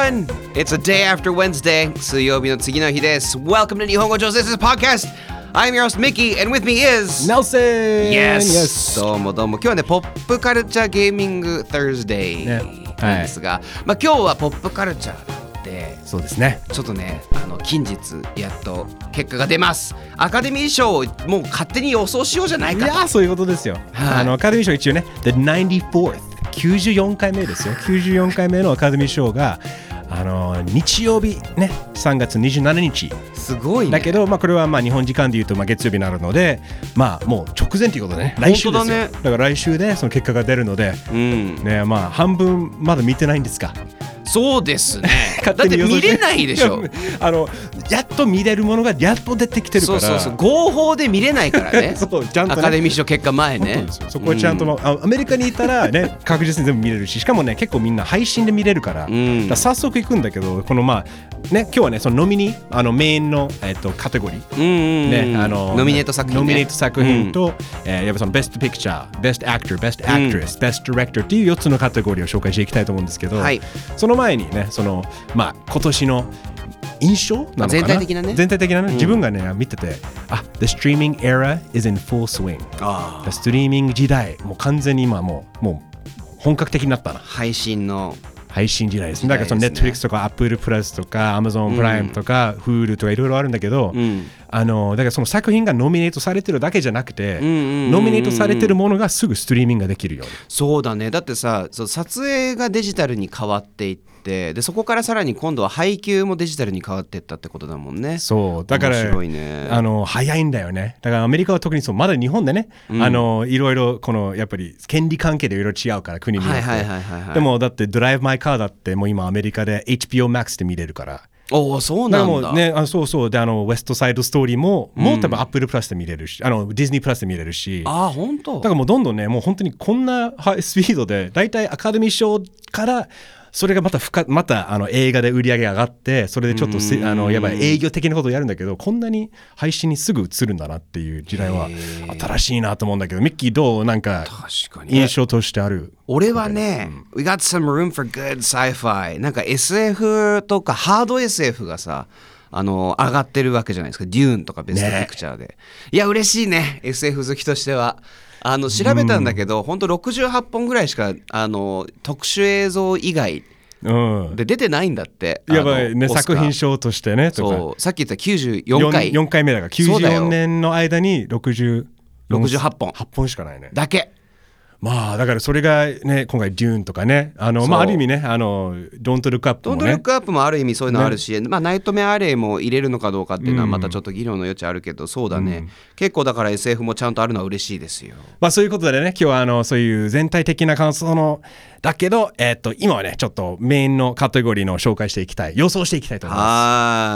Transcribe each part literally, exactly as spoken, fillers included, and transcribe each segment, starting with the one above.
everyone! It's a day after Wednesday. 水曜日の次の日です。Welcome to 日本語上手です podcast. I'm your host Mickey, and with me is Nelson. Yes. どうもどうも。今日はね、ポップカルチャーゲーミング Thursday なんですが、ね、はい、まあ今日はポップカルチャーで、 そうですね。 ちょっとね、あの近日やっと結果が出ます。アカデミー賞をもう勝手に予想しようじゃないかと。 いや、そういうことですよ。はい、あのアカデミー賞一応ね、The ナインティーフォース。きゅうじゅうよんかいめですよ。きゅうじゅうよんかいめのアカデミー賞があの日曜日ね、さんがつにじゅうしちにち。 すごいね。 だけど、まあ、これはまあ日本時間でいうとまあ月曜日になるので、まあもう直前ということでね、来週ですよ。だね、だから来週でその結果が出るので、うん、ね、まあ半分まだ見てないんですか。 そうですね。だって見れないでしょ。 あのやっと見れるものがやっと出てきてるから。 そうそうそう。合法で見れないからね。そうちゃんと、ね、アカデミー賞結果前ね。 そこはちゃんと、うん、アメリカにいたらね確実に全部見れるし、しかもね結構みんな配信で見れるから。うん、だから早速行くんだけど、このまあね今日はねそのノミニあのメインのえっとカテゴリー、うんうんうん、ねあのノミネート作品、ね、 ノミネート作品と、うん、えー、やっぱそのベストピクチャー、ベストアクター、ベストアクトレス、ベストディレクターっていうよっつのカテゴリーを紹介していきたいと思うんですけど、はい、その前にねそのまあ今年の印象なのかな、 全体的なね全体的なね、うん、自分がね見てて、あ、The streaming era is in full swing。あ、ストリーミング時代もう完全に今もうもう本格的になったな。 配信の配信時代ですね。だからその Netflix とか Apple プラスとか Amazon プライムとか Hulu とかいろいろあるんだけど、うん、あのだからその作品がノミネートされてるだけじゃなくて、うんうんうんうん、ノミネートされてるものがすぐストリーミングができるように。 そうだね。だってさ、そう撮影がデジタルに変わっていって、でそこからさらに今度は配給もデジタルに変わっていったってことだもんね。 そうだから面白いね。あの早いんだよね。だからアメリカは特にそう、まだ日本でね、うん、あのいろいろこのやっぱり権利関係でいろいろ違うから国によって、はいはいはいはいはい、でもだってドライブマイカーだってもう今アメリカで エイチビーオー Max で見れるから。 おお、そうなんだ。 もうね、あ、そうそうで、あのウェストサイドストーリーも、うん、もう多分 Apple プラスで見れるし、あのディズニープラスで見れるし。 あ、本当。 だからもうどんどんね、もう本当にこんなスピードで、だいたいアカデミー賞からそれがまた深またあの映画で売り上げ上がって、それでちょっとあのやばい営業的なことをやるんだけど、こんなに配信にすぐ映るんだなっていう時代は新しいなと思うんだけど、ミッキーどうなんか印象としてある？ 俺はね、うん、We got some room for good sci-fi。 なんか エスエフ とかハード エスエフ がさあの上がってるわけじゃないですか。デューンとかベストピクチャーで、ね、いや嬉しいね エスエフ 好きとしては。あの調べたんだけど、うん、ほんとろくじゅうはっぽんぐらいしかあの特殊映像以外で出てないんだって。 やばいね、作品賞としてね。とかそう、さっき言ったきゅうじゅうよんかい 4, よんかいめだからきゅうじゅうよねんの間にろくじゅうろくじゅうはっぽんはっぽんしかないね。 だけ。 まあだからそれがね今回デューンとかね、あのまあある意味ね、あのドントルックアップもね、 ドントルックアップもある意味そういうのあるし、ね、まあナイトメアレイも入れるのかどうかっていうのはまたちょっと議論の余地あるけど、うん、そうだね、うん、結構だから エスエフ もちゃんとあるのは嬉しいですよ。 まあそういうことでね、今日はあのそういう全体的な感想のだけど、えー、っと今はねちょっとメインのカテゴリーの紹介していきたい、予想していきたいと思います。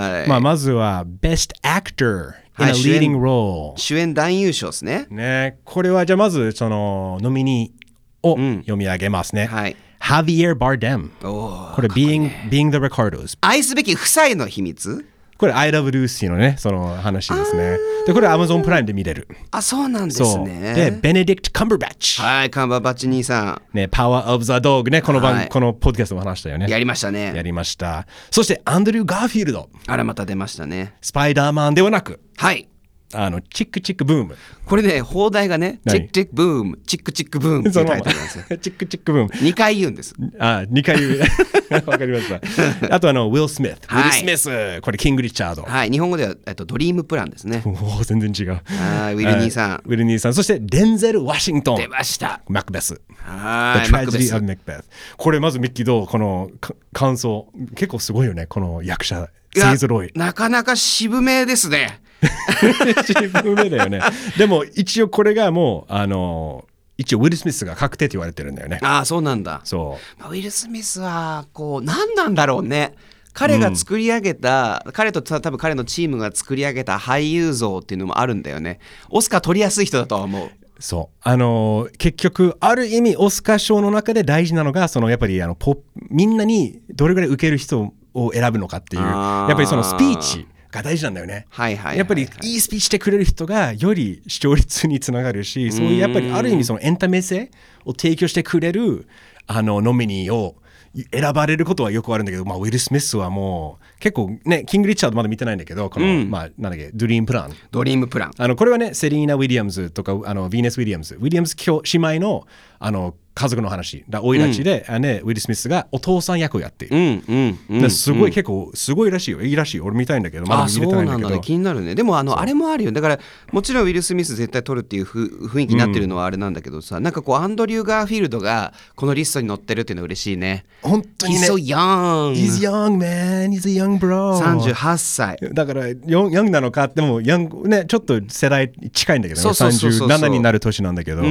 はい、まあまずは Best Actor in a leading role、 主演男優賞ですね。 ね、これはじゃあまずそのノミニーを読み上げますね。うん、はい。Javier Bardem。これ being, being the Ricardos。 愛すべき夫妻の秘密。 これ I Love Lucy のねその話ですね。でこれ Amazon プライムで見れる。 あ、そうなんですね。 で Benedict Cumberbatch。 はい、カンバーバッチ兄さん。ね、Power of the Dog ね、この番、はい、このポッドキャストも話したよね。 やりましたね。 やりました。そしてアンドリュー・ガーフィールド。 あらまた出ましたね。 スパイダーマンではなく。 はい。 あのチックチックブーム。 これね、放題がね、チックチックブーム、チックチックブームってタイトルなんですよ。 チックチックブーム。 にかい言うんです。 あ、にかい言う。わかりました。あとあのウィル・スミス。ウィル・スミス。これキング・リチャード。はい、 日本語ではえっとドリームプランですね。 おお、全然違う。 はい、ウィル兄さん。 ウィル兄さん。そしてデンゼル・ワシントン。 出ました。 マクベス。 はい。 The Tragedy of Macbeth。これまずミッキーどうこの感想結構すごいよね、この役者勢ぞろい。 なかなか渋めですね。 渋めだよね。でも一応これがもうあの一応ウィル・スミスが確定って言われてるんだよね。 ああ、そうなんだ。 そう、 まあ、ウィル・スミスはこう何なんだろうね。彼が作り上げた、うん、彼と多分彼のチームが作り上げた俳優像っていうのもあるんだよね。オスカー取りやすい人だとは思う。 そうあの結局ある意味オスカー賞の中で大事なのがそのやっぱりあのポみんなにどれぐらい受ける人を選ぶのかっていうやっぱりそのスピーチが大事なんだよね。 はいはいはいはい、 やっぱりいいスピーチしてくれる人がより視聴率につながるし、そういうやっぱりある意味そのエンタメ性を提供してくれるあのノミニーを選ばれることはよくあるんだけど、まあ、ウィル・スミスはもう結構ね、キング・リチャードまだ見てないんだけど、この、うん、まあ、なんだっけ、ドリームプラン。 ドリームプラン。 あのこれはね、セリーナ・ウィリアムズとかあのヴィーネス・ウィリアムズ、ウィリアムズ姉妹のあの家族の話だ、おいらちで、うんね、ウィル・スミスがお父さん役をやっている。うんうんうん、 すごい、うん、結構すごいらしいよ、いいらしいよ。俺見たいんだけど、まだ見れてないんだけど。あ、そうなんだね、 気になるね。でもあのあれもあるよ。だからもちろんウィル・スミス絶対撮るっていうふ雰囲気になってるのはあれなんだけどさ、うん、なんかこうアンドリュー・ガーフィールドがこのリストに載ってるっていうのは嬉しいね。 本当にね。 He's so young. He's young, man. He's a young bro. さんじゅうはっさいだからヨン、ヤングなのかってもヤング、ね、ちょっと世代近いんだけど、ね、さんじゅうななになる年なんだけど、うん、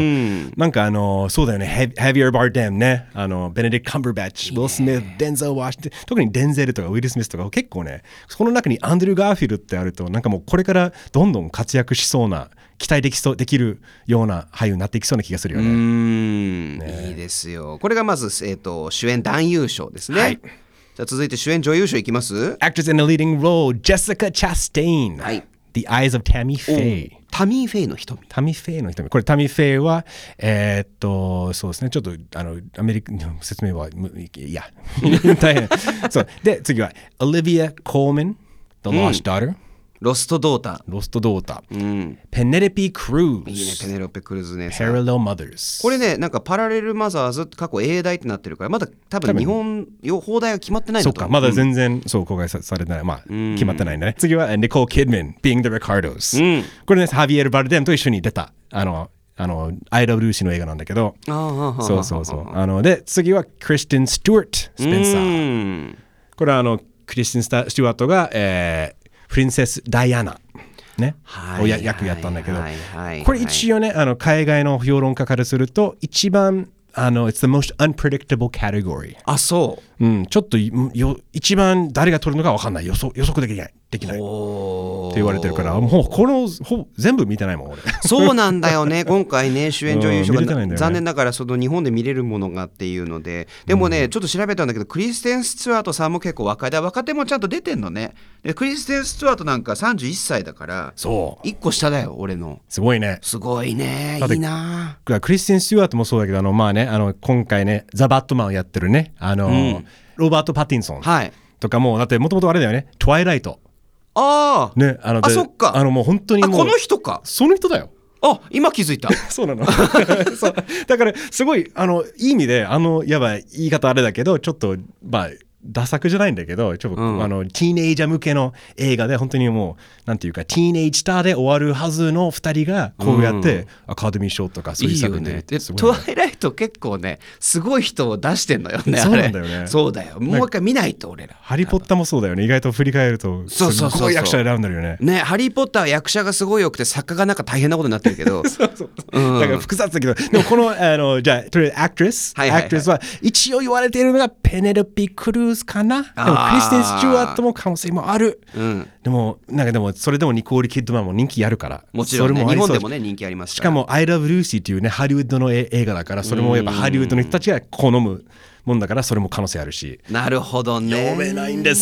なんかあのそうだよね、ヘビア・バーデムね、あのベネディクト・カンバーバッチ、ウィル・スミス、デンゼル・ワシントン、特にデンゼルとかウィル・スミスとか結構ね、その中にアンドリュー・ガーフィールドってあると、なんかもうこれからどんどん活躍しそうな、期待できそうできるような俳優になっていきそうな気がするよね。 うーん、ね、いいですよ。これがまず、えーと、主演男優賞ですね。はい、じゃあ続いて主演女優賞いきます。 Actress in a leading role Jessica Chastain、はい、The Eyes of Tammy Faye。 タミー・フェイの瞳。 タミー・フェイの瞳。これタミー・フェイはえー、っとそうですね、ちょっとあのアメリカの説明はいや大変そうで、次は Olivia Colman The Lost Daughter、うん、 ロストドーター。 ロストドーター。うん、ペネロペ・クルーズ。 いいね、ペネロペ・クルーズね。 Parallel Mothers。 これね、なんかパラレルマザーズ過去英題ってなってるから、まだ多分日本放題が決まってないんだと思う。 そうか、まだ全然、うん、そう公開されてない。まあ、うん、決まってないんだね。次はニコール・キッドマン Being the Ricardos、うん。これね、ハビエル・バルデムと一緒に出た。あの、あの、I Love Lucy の映画なんだけど。 あそうそうそう。あの、で、次はクリスティン・スチュワート・スペンサー。これはあの、クリスティン・スチュワートが、えー、プリンセス・ダイアナ。ね、をや役やったんだけど、これ一応ね、あの海外の評論家からすると一番あの It's the most unpredictable category。 あ、そう、 うん、ちょっとよ一番誰が取るのか分かんない、予測予測できないできないって言われてるから、もうこのほ全部見てないもん俺。 そうなんだよね。今回ね、主演女優賞が、うんね、残念ながらその日本で見れるものがっていうので、でもね、うん、ちょっと調べたんだけど、クリステン・スチュワートさんも結構若いで、若手もちゃんと出てんのね。でクリステン・スチュワートなんかさんじゅういっさいだから、そういっこ下だよ俺の。 すごいね。 すごいね。いいな。 クリステン・スチュワートもそうだけど、あのまあね、あの今回ねザ・バットマンをやってるね、あの、うん、ロバート・パティンソンとかも、はい、だってもともとあれだよね、トワイライト。 ああ、 ね、あのあ、そっか、 あのもう本当にもうあ、この人か、 その人だよ。 あ、今気づいた。 そうなの。そうだからすごいあのいい意味で、あのやばい言い方あれだけど、ちょっとまあダ作じゃないんだけど、ちょっと、うん、あのティーネイジャー向けの映画で、本当にもうなんていうかティーネイジスターで終わるはずのふたりがこうやって、うん、アカデミー賞とかそういう作品で、いいよね。 でトワイライト結構ねすごい人を出してんのよね。 そうなんだよね。 そうだよ。もう一回見ないと俺ら。 ハリーポッターもそうだよね。意外と振り返るとすごい役者選んでるよね。 ね、ハリーポッターは役者がすごい良くて作家がなんか大変なことになってるけど。 そうそう、うん、だから複雑だけど、でもこのあのじゃあとりあえずアクトレス、はいはいはい、アクトレスは一応言われているのがペネロペ・クルーズかな。クリステン・スチュワートも可能性もある、うん、でもなんかでもそれでもニコール・キッドマンも人気あるから、 もちろん、ね、日本でもね人気ありますから。 しかも I Love Lucy っていうねハリウッドの映画だから、それもやっぱハリウッドの人たちが好むもんだから、それも可能性あるし。 なるほどね。 読めないんです。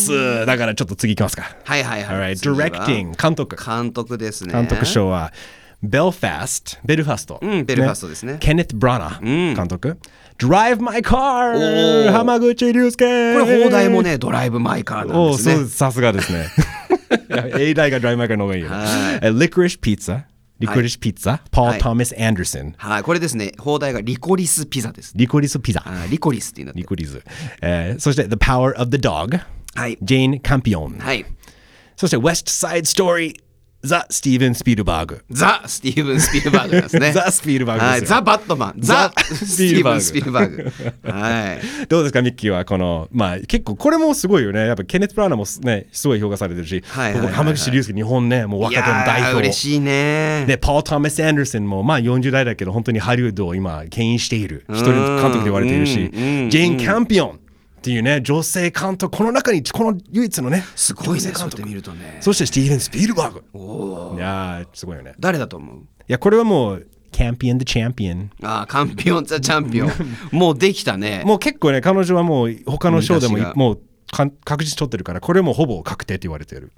だからちょっと次いきますか。 はいはいはい。 Alright, Directing 監督。 監督ですね。 監督賞はベルファスト、ベルファスト、 うん、ベルファストですね。 ケネット・ブラナ監督、うん、Drive My Car、浜口竜介。 これ放題もね、ドライブ・マイ・カーなんですね。 さすがですね。英題が Drive My Car の方がいいよ。Licorice Pizza、リコリスピッツァ、ポール・トーマス・アンダーソン。 はい、これですね、放題がリコリスピザです。 リコリスピザ。 リコリスっていうの。 リコリス。えー、そして The Power of the Dog、はい、ジェーン・カンピオン。はい。そして West Side Story、ザ・スティーブン・スピルバーグ。 ザ・スティーブン・スピルバーグなんですね。 ザ・スピルバーグですよ。はい、 ザ・バットマン。ザ・スティーブン・スピルバーグ。はい。 どうですかミッキーはこの、まあ結構これもすごいよね。やっぱケネット・ブラウナーもねすごい評価されてるし、はいはいはいはい、浜口竜介日本ねもう若手の代表。 嬉しいね。 でポール・トーマス・アンダーソンもまあよんじゅう代だけど本当にハリウッドを今牽引している一人監督で言われているし、ジェーン・キャンピオン。っていうね、女性監督、この中にこの唯一のね、 すごいね、そうやって見るとね。 そしてスティーブン・スピルバーグ。おいやーすごいよね。 誰だと思う？いやこれはもうカンピオン・ザ・チャンピオン。 ああ、カンピオン・ザ・チャンピオン。もうできたね。 もう結構ね、彼女はもう他の賞でももう確実取ってるから、これもほぼ確定って言われてる。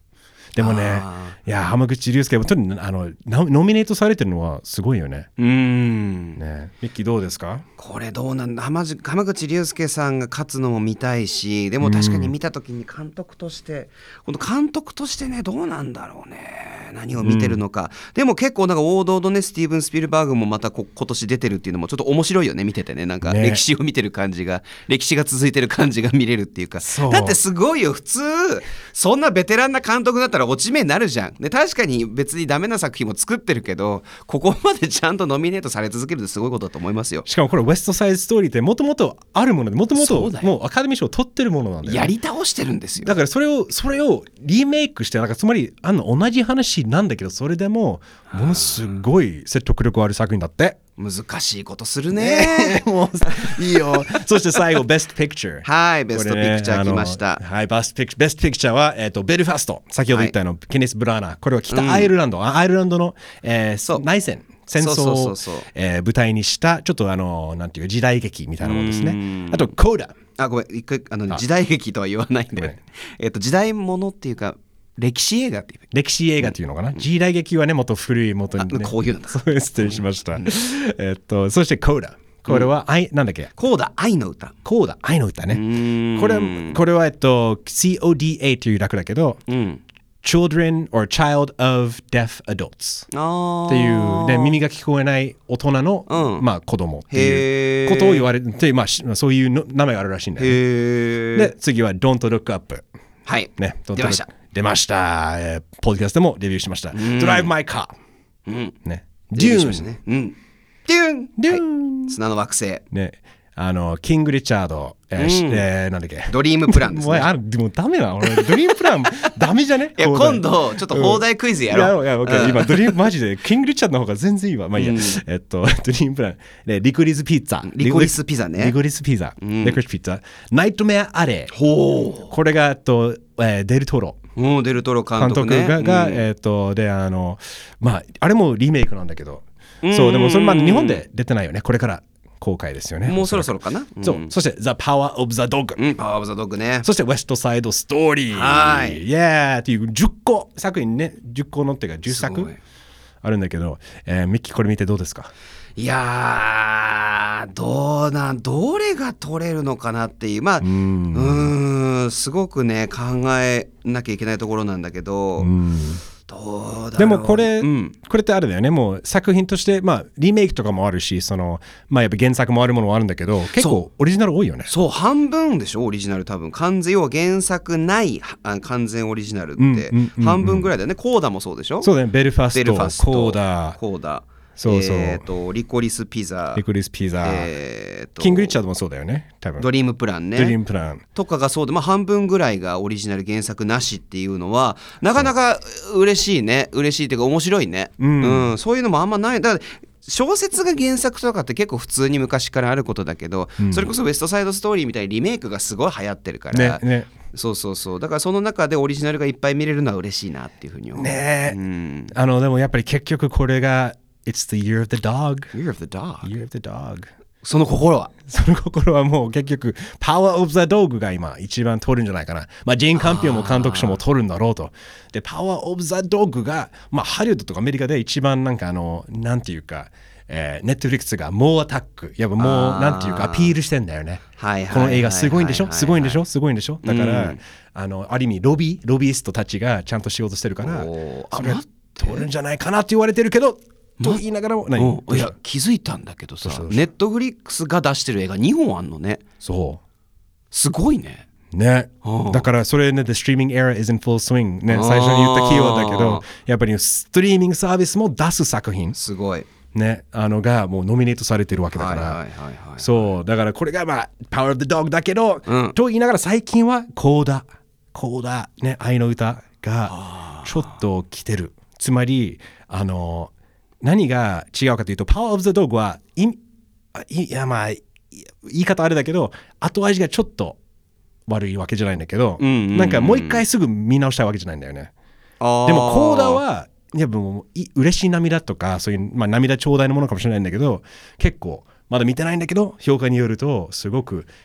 でもね、いや浜口竜介はとにあのノミネートされてるのはすごいよね。 うーんね、ミッキーどうですか？ これどうなんだ。浜浜口竜介さんが勝つのも見たいし、でも確かに見た時に監督として、この監督としてねどうなんだろうね、何を見てるのか、うん、でも結構なんか王道のねスティーブン・スピルバーグもまたこ今年出てるっていうのもちょっと面白いよね、見ててね、なんか歴史を見てる感じが、ね、歴史が続いてる感じが見れるっていうか、だってすごいよ、普通そんなベテランな監督だったら落ち目になるじゃん、ね、確かに別にダメな作品も作ってるけど、ここまでちゃんとノミネートされ続けるってすごいことだと思いますよ。 しかもこれウエストサイドストーリーってもともとあるもので、もともともうアカデミー賞を取ってるものなんだよ、ね、 やり倒してるんですよ。 だからそれをそれをリメイクして、なんかつまりあの同じ話なんだけど、それでもものすごい説得力ある作品だって。 難しいことするね。 もういいよ。そして最後ベストピクチャー。 はい、ベストピクチャー来ました。 はい、ベストピクベストピクチャーは、えー、とベルファスト。先ほど言ったの、はい、ケネス・ブラーナー。これは北アイルランド、うん、アイルランドの、えー、内戦。戦争を舞台にしたちょっとあのなんていう時代劇みたいなものですね。あとコーダ。 あ、ごめん、一回あの時代劇とは言わないんで、えっと時代物っていうか歴史映画っていう歴史映画っていうのかな、うん、時代劇はねもっと古い元に、ね、 こういうのだ。 そう失礼しました。えっとそしてコーダ。これは愛、うん、なんだっけ？ コーダ愛の歌。 コーダ愛の歌ね。これこれはえっと シーオーディーエー という略だけど。うん、Children or Child of Deaf Adults っていう、ね、耳が聞こえない大人の、うんまあ、子供っていうことを言われて、まあ、そういうの名前があるらしいんだよね。で次は Don't Look Up、 はいね、 出ました出ました、えー、ポッドキャストでもレビューしました。Drive My Car、 うんね、 デューンしましたね。うん、デューン、 デューン、 はい、砂の惑星、 ね、あのキング・リチャード、えーうんえー、なんだっけドリームプランですね。 もうあでもダメな俺ドリームプランダメじゃね。 いや今度ちょっと放題クイズやろう、 うん、いやいや、OK、うん、今ドリームマジでキング・リチャードの方が全然いいわ。まあいいや、うん、えっとドリームプラン、ね、リコリスピッツァ、 リコリスピザね、 リコリスピザ、うん、リコリスピッツァ、ナイトメア・アレ、 ほう、 これがと、えー、デルトロ、 うん、デルトロ監督、ね、 監督が、うん、えっとであのまああれもリメイクなんだけど、うん、そうでもそれまだ日本で出てないよね。これから公開ですよね。 もうそろそろかな。 そう、うん、そして The Power of the Dog、 うん、パワーオブザドッグね。 そして West Side Story、 はい、 イエーっていうじゅっこ作品ね、じゅっこのっていうかじゅっさくあるんだけど、えー、ミッキーこれ見てどうですか？ いやーどうなんどれが取れるのかなっていう、まあうーんうーんすごくね考えなきゃいけないところなんだけど、うんどうだろう。 でもこれ、 うん、 これってあれだよね、もう作品としてまあリメイクとかもあるし、そのまあやっぱ原作もあるものもあるんだけど、結構オリジナル多いよね。 そう半分でしょオリジナル。多分完全要は原作ない完全オリジナルって半分ぐらいだよね。コーダもそうでしょ。 そうだね、ベルファスト、 ベルファストコーダコーダそうそう、 えー、とリコリスピザ、 リコリスピザ、 えー、とキングリッチャードもそうだよね多分。 ドリームプランね、 ドリームプランとかがそうで、まあ、半分ぐらいがオリジナル原作なしっていうのはなかなか嬉しいね。嬉しいっていうか面白いね、うんうん、そういうのもあんまない。だから小説が原作とかって結構普通に昔からあることだけど、うん、それこそウエストサイドストーリーみたいにリメイクがすごい流行ってるから、 ねね、 そうそうそう、だからその中でオリジナルがいっぱい見れるのは嬉しいなっていうふうに思うね、 うん、 あのでもやっぱり結局これがIt's the year of the dog. Year of the dog. Year of the dog. その心はその心はもう結局 Power of the Dog が今一番取るんじゃないかな。まあジェーン・カンピオンも監督賞も取るんだろうと。で Power of the Dog がまあハリウッドとかアメリカで一番なんかあのなんていうか、えー、ネットフリックスがもうアタックやっぱもうなんていうかアピールしてんだよね。この映画すごいんでしょすごいんでしょすごいんでしょだから、うん、あのある意味ロビーロビーストたちがちゃんと仕事してるからそれ取るんじゃないかなって言われてるけど。と言いながらも何、 うん、いや気づいたんだけどさ、ネットフリックスが出してる映画にほんあんのね。 そうすごいね。 ね、だからそれね The streaming era is in full swing ね、最初に言ったキーワードだけどやっぱりストリーミングサービスも出す作品すごいね、あのがもうノミネートされてるわけだから、はいはいはいはい、そうだからこれがまあ Power of the Dog だけど、うん、と言いながら最近はコーダコーダね愛の歌がちょっと来てる。つまりあの何が違うかというと Power of the Dog はいいやまあ言い方あれだけど後味がちょっと悪いわけじゃないんだけど、うんうんうん、なんかもう一回すぐ見直したいわけじゃないんだよね。でもコーダはいやもう嬉しい涙とかそういう、まあ、涙ちょうだいのものかもしれないんだけど結構まだ見てないんだけど評価によるとすごく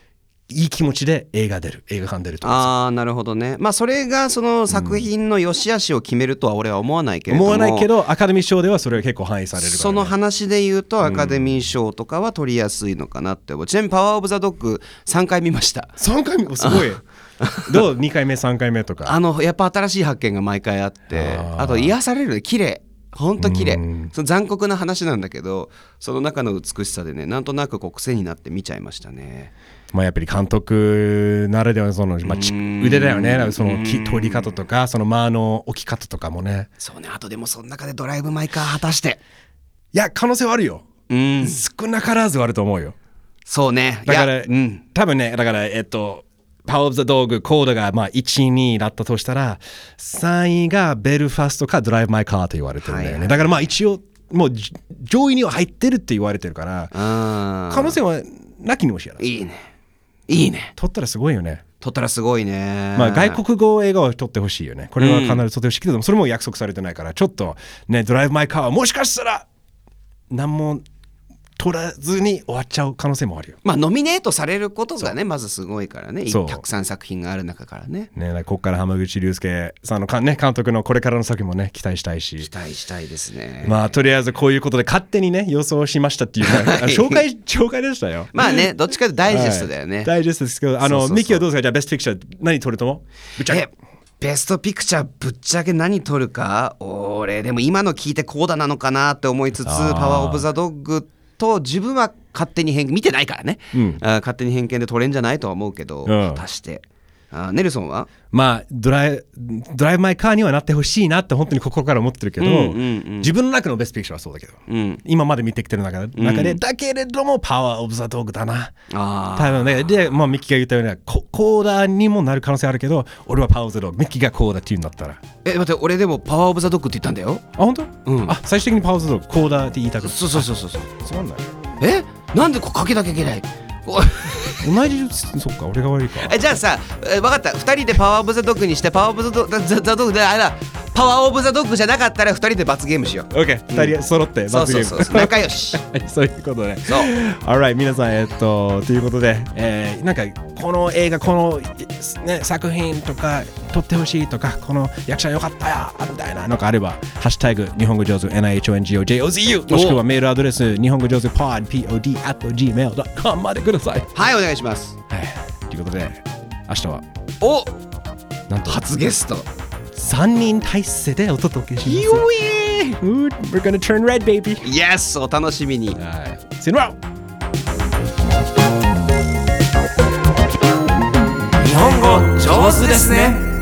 いい気持ちで映画出る映画館出るとかああなるほどね。まあそれがその作品の良し悪しを決めるとは俺は思わないけれども、 思わないけどアカデミー賞ではそれが結構反映されるから、ね、 その話で言うとアカデミー賞とかは取りやすいのかなって思う。ちなみにパワーオブザドッグさんかい見ました。 さんかいめすごいどうにかいめさんかいめとかあのやっぱ新しい発見が毎回あって、あ, あと癒される綺麗ほんと綺麗、その残酷な話なんだけどその中の美しさでねなんとなくこう癖になって見ちゃいましたね。 まあやっぱり監督ならではのその、まあ、腕だよね。その撮り方とかその間の置き方とかもね。 そうね。あとでもその中でドライブ・マイ・カー果たしていや可能性はあるよ。うん少なからずはあると思うよ。 そうね。 だから、 うん、 多分ねだからえっとパワーオブザドッグコードがまあいち、にだったとしたらさんいがベルファストかドライブ・マイ・カーと言われてるんだよね、はいはい、だからまあ一応もう上位には入ってるって言われてるから可能性はなきにもしやない。 いいねいいね。 撮ったらすごいよね。 撮ったらすごいね。 まあ外国語映画を撮ってほしいよね。これは必ず撮ってほしいけど、うん、それも約束されてないからちょっとねドライブ・マイ・カーはもしかしたら何も取らずに終わっちゃう可能性もあるよ。 まあノミネートされることがねまずすごいからね。たくさん作品がある中からね。 ねここから浜口竜介さんのか、ね、監督のこれからの作品もね期待したいし。 期待したいですね。 まあとりあえずこういうことで勝手にね予想しましたっていう、はい、紹介紹介でしたよ。 まあねどっちかというとダイジェストだよね。はい、 ダイジェストですけどあのそうそうそうミキはどうですか。じゃあベストピクチャー何撮ると思う。ぶっちゃけベストピクチャーぶっちゃけ何撮るか俺でも今の聞いてコーダなのかなって思いつつパワーオブザドッグと自分は勝手に偏見見てないからね、うん、あ勝手に偏見で撮れんじゃないとは思うけど、うん、果たしてあネルソンはまあドライドライブ・マイ・カーにはなってほしいなって本当に心から思ってるけど、うんうんうん、自分の中のベストピクチャーはそうだけど、うん、今まで見てきてる中で、中で、うん、だけれどもパワー・オブ・ザ・ドッグだな。あ多分ねで、まあ、ミッキーが言ったようにココーダにもなる可能性あるけど俺はパワー・オブ・ザ・ドッグミッキーがコーダっていうんだったらえ待って俺でもパワー・オブ・ザ・ドッグって言ったんだよ。 あ本当、うん、あ最終的にパワー・オブ・ザ・ドッグコーダって言いたくてそうそうそうそうそうつまんないえなんでこうかけなきゃいけない同じそっか俺が悪いか。 えじゃあさえ分かったふたりでパワーオブザドッグにしてパワーオブザドッグであらパワーオブザドッグじゃなかったらふたりで罰ゲームしよう。 OK ふたり揃って罰ゲーム、 そうそうそう仲良しそういうことね。 そう Alright 皆さんえっとということで、えー、なんかこの映画この、ね、作品とか撮ってほしいとかこの役者よかったやみたいなのがあればハッシュタグ日本語上手 エヌアイエイチオーエヌジーオージェーオーズユー もしくはメールアドレス日本語上手 ポッド ポッド アット ジーメールドットコム までください。 はいお願いします。 はいということで明日はおなんと初ゲストさんにん体制でお届けします。We're gonna turn red baby Yes お楽しみに。 はい See you tomorrow。 日本語上手ですね。